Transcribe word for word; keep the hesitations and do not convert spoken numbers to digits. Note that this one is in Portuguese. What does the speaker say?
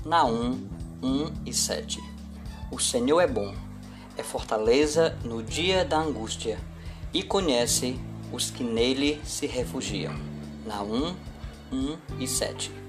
Naum um e sete. O Senhor é bom, é fortaleza no dia da angústia, e conhece os que nele se refugiam. Naum um e sete.